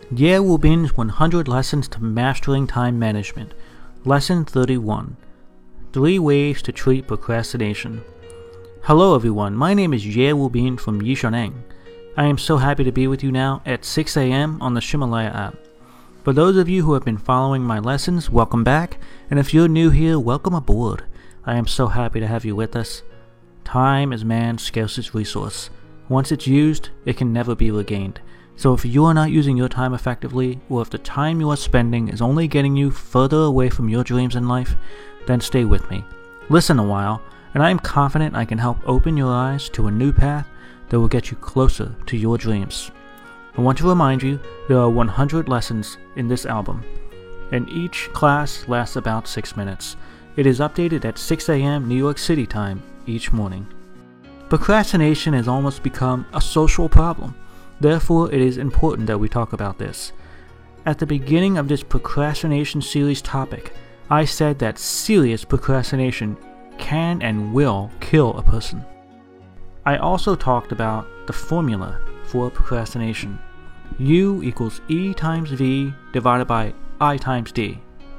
Ye Wu Bin's 100 Lessons to Mastering Time Management. Lesson 31. 3 Ways to Treat Procrastination. Hello everyone, my name is Ye Wu Bin from Yishaneng. I am so happy to be with you now at 6 a.m. on the Ximalaya app. For those of you who have been following my lessons, welcome back, and if you're new here, welcome aboard. I am so happy to have you with us. Time is man's scarcest resource. Once it's used, it can never be regained. So if you are not using your time effectively, or if the time you are spending is only getting you further away from your dreams in life, then stay with me. Listen a while, and I am confident I can help open your eyes to a new path that will get you closer to your dreams. I want to remind you there are 100 lessons in this album, and each class lasts about 6 minutes. It is updated at 6 a.m. New York City time each morning. Procrastination has almost become a social problem. Therefore, it is important that we talk about this. At the beginning of this procrastination series topic, I said that serious procrastination can and will kill a person. I also talked about the formula for procrastination. U equals E times V divided by I times D.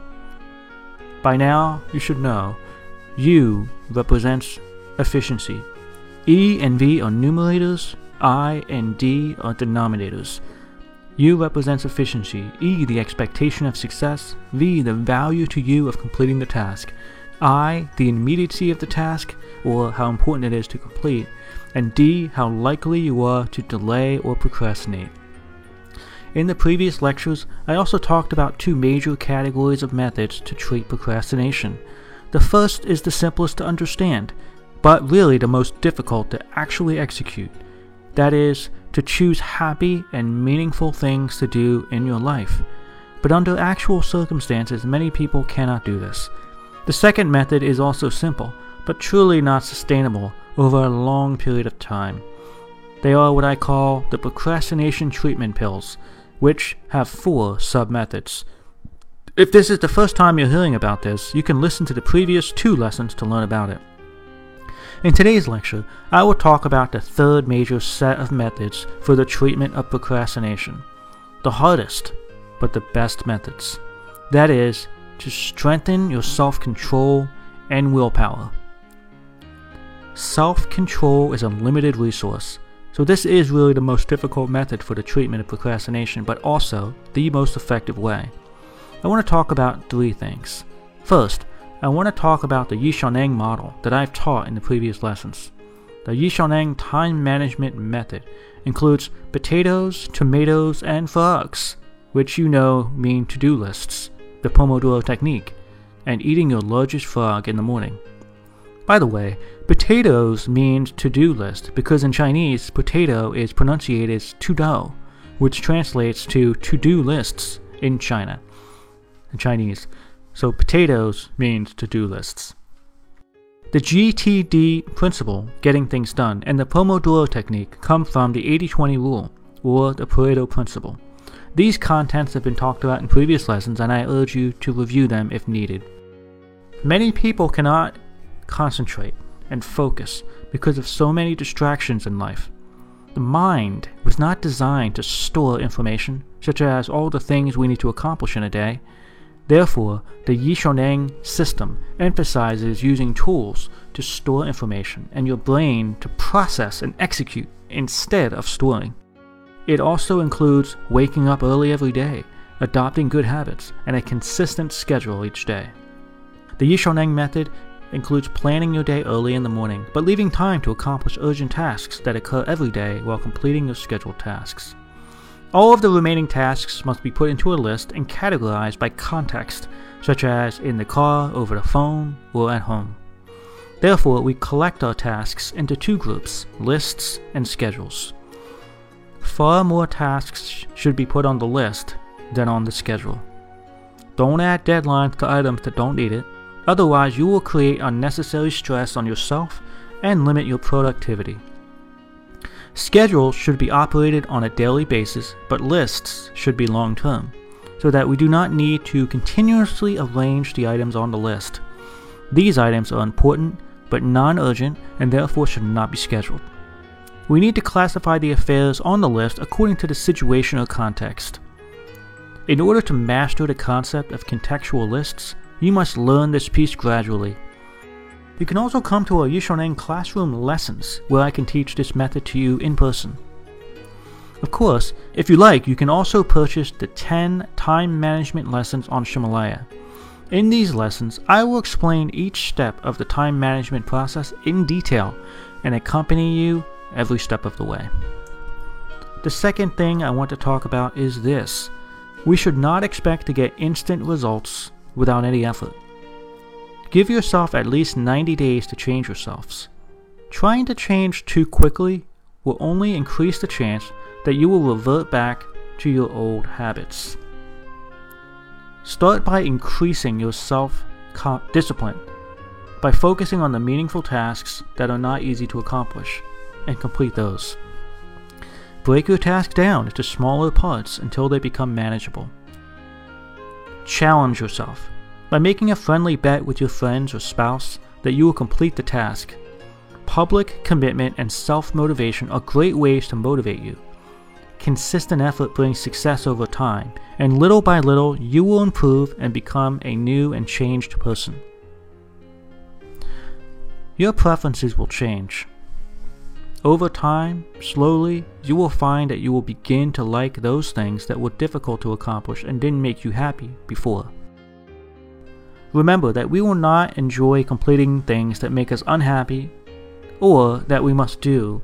By now, you should know, U represents efficiency. E and V are numerators, I and D are denominators. U represents efficiency, E the expectation of success, V the value to you of completing the task, I the immediacy of the task, or how important it is to complete, and D how likely you are to delay or procrastinate. In the previous lectures, I also talked about 2 major categories of methods to treat procrastination. The first is the simplest to understand, but really the most difficult to actually execute. That is, to choose happy and meaningful things to do in your life. But under actual circumstances, many people cannot do this. The second method is also simple, but truly not sustainable over a long period of time. They are what I call the procrastination treatment pills, which have 4 sub-methods. If this is the first time you're hearing about this, you can listen to the previous 2 lessons to learn about it. In today's lecture, I will talk about the third major set of methods for the treatment of procrastination. The hardest, but the best methods. That is, to strengthen your self-control and willpower. Self-control is a limited resource, so this is really the most difficult method for the treatment of procrastination, but also the most effective way. I want to talk about 3 things. First, I want to talk about the Yishaneng model that I've taught in the previous lessons. The Yishaneng time management method includes potatoes, tomatoes, and frogs, which you know mean to-do lists, the Pomodoro technique, and eating your largest frog in the morning. By the way, potatoes means to-do list because in Chinese, potato is pronunciated as tudou, which translates to-do lists in China. In Chinese. So potatoes means to-do lists. The GTD principle, getting things done, and the Pomodoro technique come from the 80-20 rule, or the Pareto principle. These contents have been talked about in previous lessons, and I urge you to review them if needed. Many people cannot concentrate and focus because of so many distractions in life. The mind was not designed to store information, such as all the things we need to accomplish in a day. Therefore, the Yishaneng system emphasizes using tools to store information and your brain to process and execute instead of storing. It also includes waking up early every day, adopting good habits, and a consistent schedule each day. The Yishaneng method includes planning your day early in the morning, but leaving time to accomplish urgent tasks that occur every day while completing your scheduled tasks. All of the remaining tasks must be put into a list and categorized by context, such as in the car, over the phone, or at home. Therefore, we collect our tasks into 2 groups, lists and schedules. Far more tasks should be put on the list than on the schedule. Don't add deadlines to items that don't need it, otherwise you will create unnecessary stress on yourself and limit your productivity. Schedules should be operated on a daily basis, but lists should be long-term, so that we do not need to continuously arrange the items on the list. These items are important, but non-urgent, and therefore should not be scheduled. We need to classify the affairs on the list according to the situation or context. In order to master the concept of contextual lists, you must learn this piece gradually. You can also come to our Yishaneng classroom lessons, where I can teach this method to you in person. Of course, if you like, you can also purchase the 10 time management lessons on Ximalaya. In these lessons, I will explain each step of the time management process in detail and accompany you every step of the way. The second thing I want to talk about is this. We should not expect to get instant results without any effort. Give yourself at least 90 days to change yourselves. Trying to change too quickly will only increase the chance that you will revert back to your old habits. Start by increasing your self-discipline by focusing on the meaningful tasks that are not easy to accomplish and complete those. Break your task down into smaller parts until they become manageable. Challenge yourself by making a friendly bet with your friends or spouse that you will complete the task. Public commitment and self-motivation are great ways to motivate you. Consistent effort brings success over time, and little by little you will improve and become a new and changed person. Your preferences will change. Over time, slowly, you will find that you will begin to like those things that were difficult to accomplish and didn't make you happy before. Remember that we will not enjoy completing things that make us unhappy or that we must do,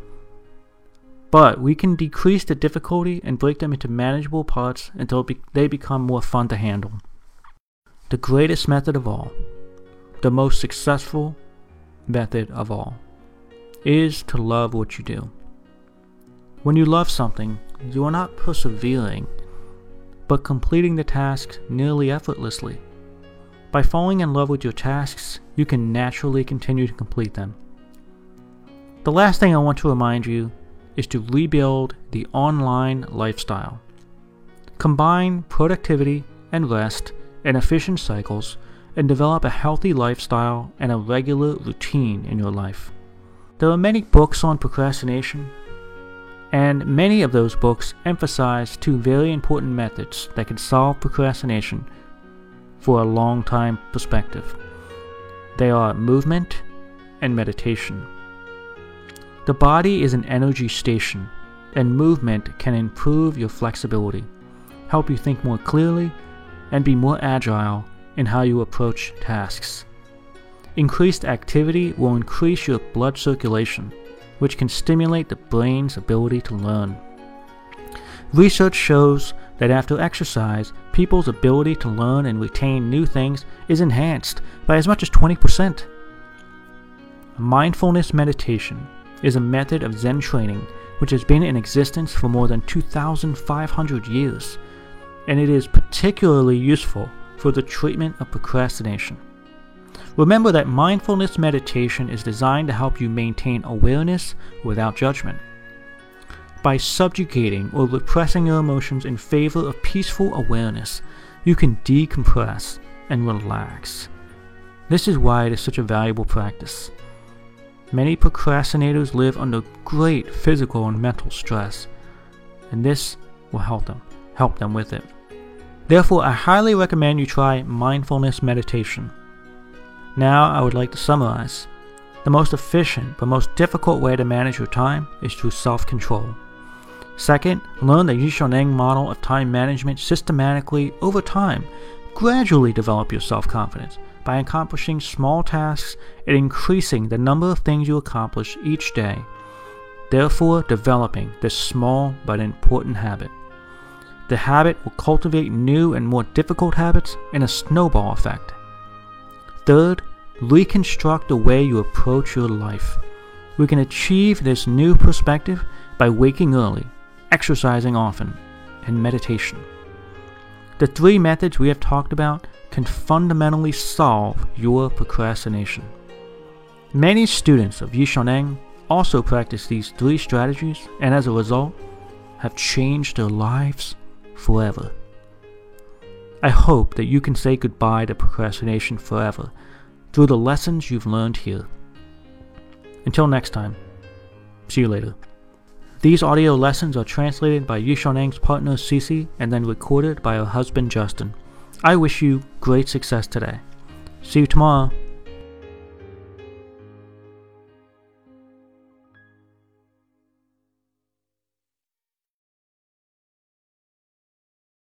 but we can decrease the difficulty and break them into manageable parts until they become more fun to handle. The greatest method of all, the most successful method of all, is to love what you do. When you love something, you are not persevering, but completing the tasks nearly effortlessly. By falling in love with your tasks, you can naturally continue to complete them. The last thing I want to remind you is to rebuild the online lifestyle. Combine productivity and rest and efficient cycles and develop a healthy lifestyle and a regular routine in your life. There are many books on procrastination, and many of those books emphasize two very important methods that can solve procrastination for a long time perspective. They are movement and meditation. The body is an energy station, and movement can improve your flexibility, help you think more clearly, and be more agile in how you approach tasks. Increased activity will increase your blood circulation, which can stimulate the brain's ability to learn. Research shows that after exercise, people's ability to learn and retain new things is enhanced by as much as 20%. Mindfulness meditation is a method of Zen training which has been in existence for more than 2,500 years, and it is particularly useful for the treatment of procrastination. Remember that mindfulness meditation is designed to help you maintain awareness without judgment. By subjugating or repressing your emotions in favor of peaceful awareness, you can decompress and relax. This is why it is such a valuable practice. Many procrastinators live under great physical and mental stress, and this will help them with it. Therefore, I highly recommend you try mindfulness meditation. Now, I would like to summarize. The most efficient but most difficult way to manage your time is through self-control. Second, learn the Yishaneng model of time management systematically over time. Gradually develop your self-confidence by accomplishing small tasks and increasing the number of things you accomplish each day, therefore developing this small but important habit. The habit will cultivate new and more difficult habits in a snowball effect. Third, reconstruct the way you approach your life. We can achieve this new perspective by waking early, exercising often, and meditation. The three methods we have talked about can fundamentally solve your procrastination. Many students of Yishaneng also practice these three strategies and as a result have changed their lives forever. I hope that you can say goodbye to procrastination forever through the lessons you've learned here. Until next time, see you later. These audio lessons are translated by Yishonang's partner Cece and then recorded by her husband Justin. I wish you great success today. See you tomorrow.